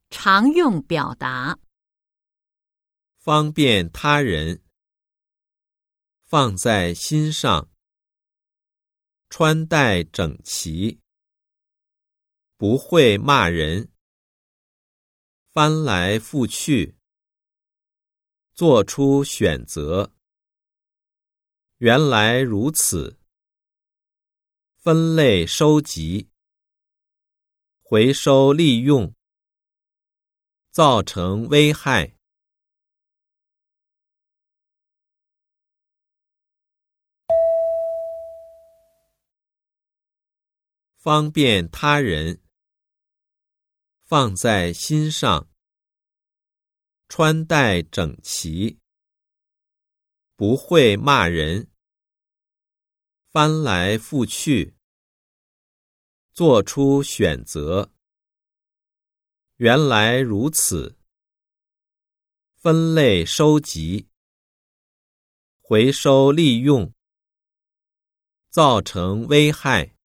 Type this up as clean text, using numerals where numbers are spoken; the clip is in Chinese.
常用表达。 方便他人，放在心上，穿戴整齐，不会骂人，翻来覆去，做出选择。原来如此，分类收集，回收利用，造成危害。方便他人，放在心上，穿戴整齐，不会骂人，翻来覆去，做出选择。原来如此，分类收集，回收利用，造成危害。